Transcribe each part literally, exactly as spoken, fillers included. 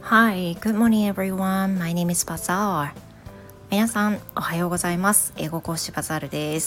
Hi, good morning everyone. My name is Bazaar. 皆さん、おはようございます。英語講師バザールです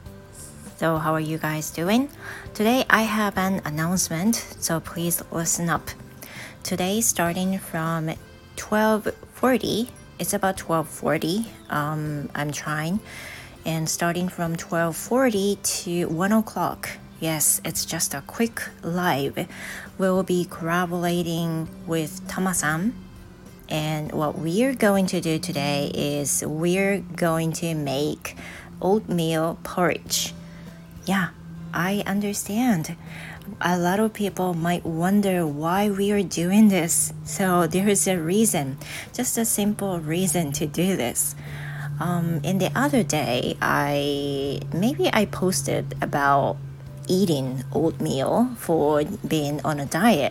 。So, how are you guys doing? Today I have an announcement, so please listen up. Today, starting from twelve forty, it's about twelve forty, um, I'm trying, and starting from twelve forty to one o'clock.Yes, it's just a quick live. We'll be collaborating with Tama-san. And what we're going to do today is we're going to make oatmeal porridge. Yeah, I understand. A lot of people might wonder why we are doing this. So there's a reason, just a simple reason to do this.Um, in the other day, I maybe I posted about...eating oatmeal for being on a diet,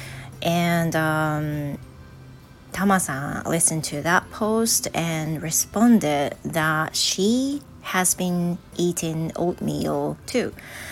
and um, Tama-san listened to that post and responded that she has been eating oatmeal too.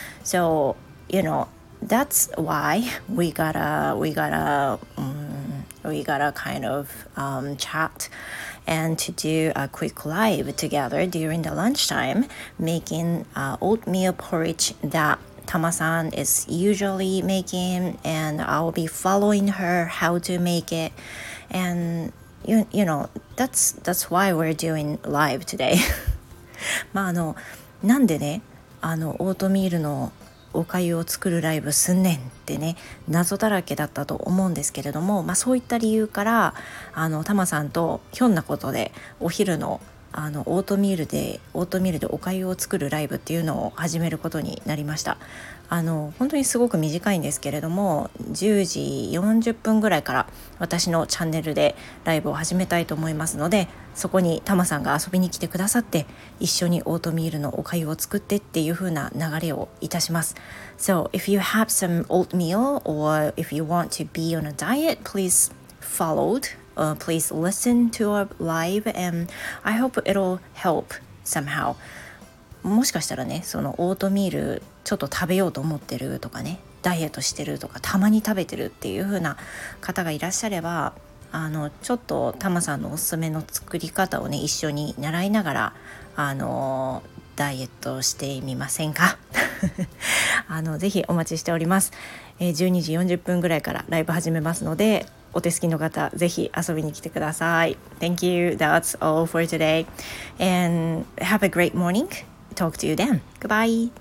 So you know that's why we gotta we gotta um, we gotta kind of um, chat and to do a quick live together during the lunchtime, making uh, oatmeal porridge that Tama-san is usually making, and I'll be following her how to make it. And you, you know, that's, that's why we're doing live today. まああの、なんでね、あの、オートミールのお粥を作るライブすんねんってね、謎だらけだったと思うんですけれども、まあそういった理由からあのタマさんとひょんなことでお昼のあのオートミールでオートミールでお粥を作るライブっていうのを始めることになりました。あの本当にすごく短いんですけれども、じゅうじよんじゅっぷんぐらいから私のチャンネルでライブを始めたいと思いますので、そこにタマさんが遊びに来てくださって一緒にオートミールのお粥を作ってっていう風な流れをいたします。 So if you have some oatmeal or if you want to be on a diet, please followed、uh, please listen to our live and I hope it'll help somehow. もしかしたらね、そのオートミールちょっと食べようと思ってるとかね、ダイエットしてるとかたまに食べてるっていう風な方がいらっしゃれば、あのちょっとタマさんのおすすめの作り方をね一緒に習いながらあのダイエットしてみませんかあのぜひお待ちしております、えー、じゅうにじよんじゅっぷんぐらいからライブ始めますので、お手すきの方ぜひ遊びに来てください。 Thank you, that's all for today and have a great morning. Talk to you then. Goodbye.